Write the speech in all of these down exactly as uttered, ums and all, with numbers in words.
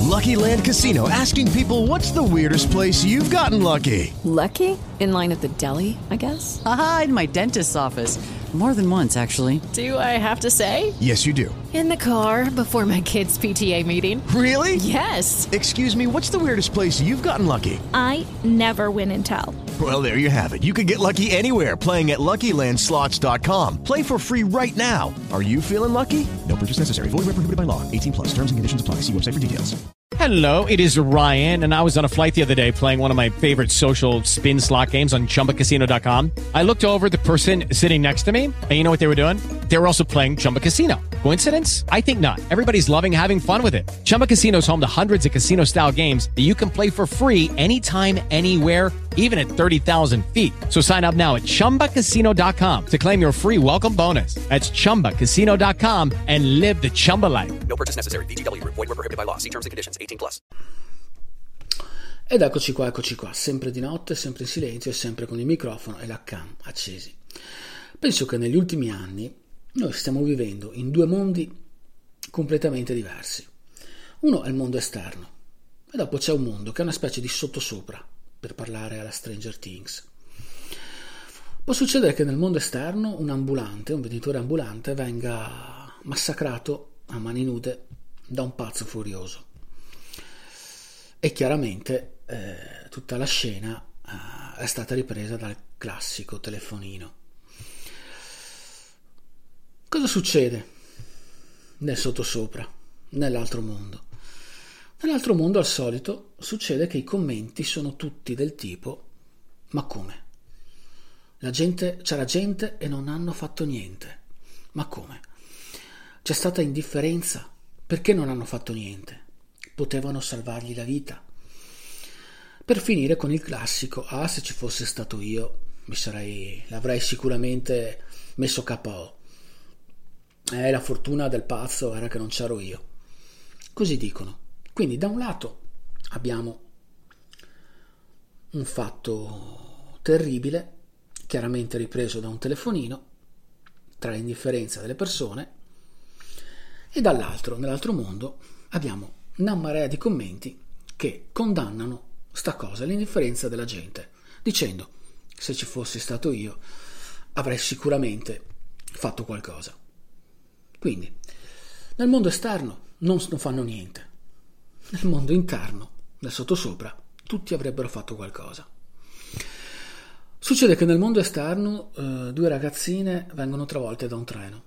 Lucky Land Casino, asking people, what's the weirdest place you've gotten lucky? Lucky? In line at the deli, I guess? Aha, in my dentist's office. More than once, actually. Do I have to say? Yes, you do. In the car before my kids' P T A meeting. Really? Yes. Excuse me, what's the weirdest place you've gotten lucky? I never win and tell. Well, there you have it. You can get lucky anywhere, playing at Lucky Land Slots dot com. Play for free right now. Are you feeling lucky? No purchase necessary. Void where prohibited by law. eighteen plus. Terms and conditions apply. See website for details. Hello, it is Ryan, and I was on a flight the other day playing one of my favorite social spin slot games on Chumba Casino dot com. I looked over at the person sitting next to me, and you know what they were doing? They were also playing Chumba Casino. Coincidence? I think not. Everybody's loving having fun with it. Chumba Casino is home to hundreds of casino-style games that you can play for free anytime, anywhere, even at thirty thousand feet. So sign up now at Chumba Casino dot com to claim your free welcome bonus. That's Chumba Casino dot com and live the Chumba life. No purchase necessary. V G W. Void where prohibited by law. See terms and conditions. eighteen plus. Ed eccoci qua, eccoci qua, sempre di notte, sempre in silenzio e sempre con il microfono e la cam accesi. Penso che negli ultimi anni noi stiamo vivendo in due mondi completamente diversi. Uno è il mondo esterno e dopo c'è un mondo che è una specie di sottosopra, per parlare alla Stranger Things. Può succedere che nel mondo esterno un ambulante, un venditore ambulante, venga massacrato a mani nude da un pazzo furioso. E chiaramente eh, tutta la scena eh, è stata ripresa dal classico telefonino. Cosa succede nel sottosopra, nell'altro mondo? Nell'altro mondo, al solito, succede che i commenti sono tutti del tipo: ma come? La gente, c'era gente e non hanno fatto niente. Ma come? C'è stata indifferenza? Perché non hanno fatto niente? Potevano salvargli la vita. Per finire con il classico: ah, se ci fosse stato io, mi sarei, l'avrei sicuramente messo K O. Eh, la fortuna del pazzo era che non c'ero io. Così dicono. Quindi da un lato abbiamo un fatto terribile, chiaramente ripreso da un telefonino, tra l'indifferenza delle persone, e dall'altro, nell'altro mondo, abbiamo una marea di commenti che condannano sta cosa, l'indifferenza della gente, dicendo: se ci fossi stato io avrei sicuramente fatto qualcosa. Quindi nel mondo esterno non, non fanno niente, nel mondo interno, nel sottosopra, tutti avrebbero fatto qualcosa. Succede che nel mondo esterno eh, due ragazzine vengono travolte da un treno.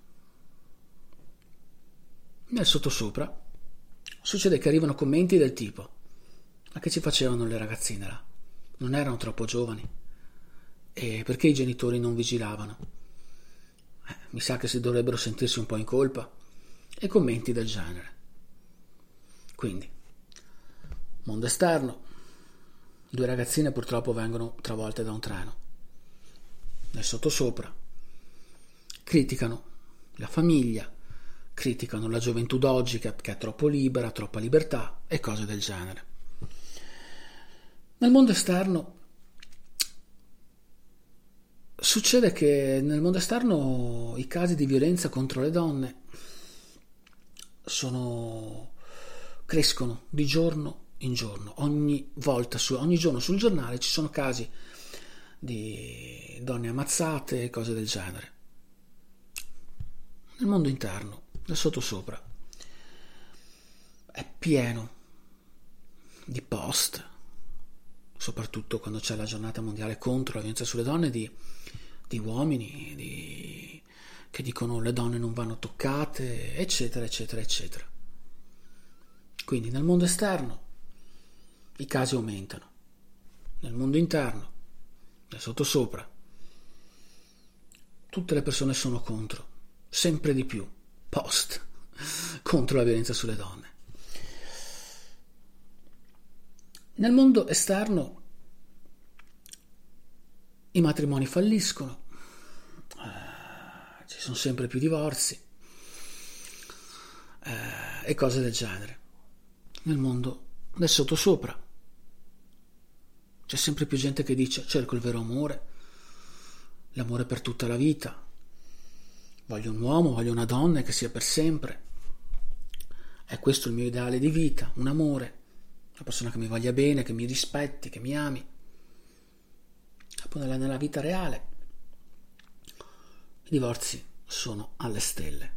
Nel sottosopra succede che arrivano commenti del tipo: ma che ci facevano le ragazzine là? Non erano troppo giovani? E perché i genitori non vigilavano? Eh, mi sa che si dovrebbero sentirsi un po' in colpa. E commenti del genere. Quindi, mondo esterno, due ragazzine purtroppo vengono travolte da un treno. Nel sottosopra criticano la famiglia, criticano la gioventù d'oggi che è troppo libera, troppa libertà e cose del genere. Nel mondo esterno succede che nel mondo esterno i casi di violenza contro le donne sono crescono di giorno in giorno. Ogni volta, su, ogni giorno sul giornale ci sono casi di donne ammazzate e cose del genere. Nel mondo interno, nel sottosopra, è pieno di post, soprattutto quando c'è la giornata mondiale contro la violenza sulle donne, di, di uomini di, che dicono le donne non vanno toccate, eccetera, eccetera, eccetera. Quindi nel mondo esterno i casi aumentano, nel mondo interno, nel sottosopra, tutte le persone sono contro, sempre di più, post, contro la violenza sulle donne. Nel mondo esterno i matrimoni falliscono, eh, ci sono sempre più divorzi eh, e cose del genere. Nel mondo del sottosopra c'è sempre più gente che dice: cerco il vero amore, l'amore per tutta la vita, voglio un uomo, voglio una donna che sia per sempre, È questo il mio ideale di vita, un amore, una persona che mi voglia bene, che mi rispetti, che mi ami. Poi nella, nella vita reale i divorzi sono alle stelle.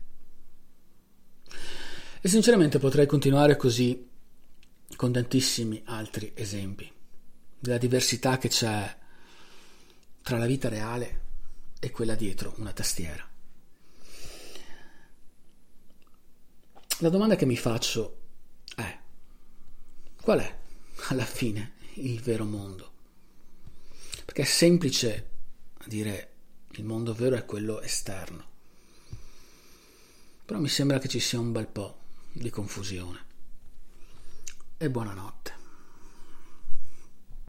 E sinceramente potrei continuare così con tantissimi altri esempi della diversità che c'è tra la vita reale e quella dietro una tastiera. La domanda che mi faccio è: qual è alla fine il vero mondo? Perché è semplice dire il mondo vero è quello esterno, però mi sembra che ci sia un bel po' di confusione. E buonanotte.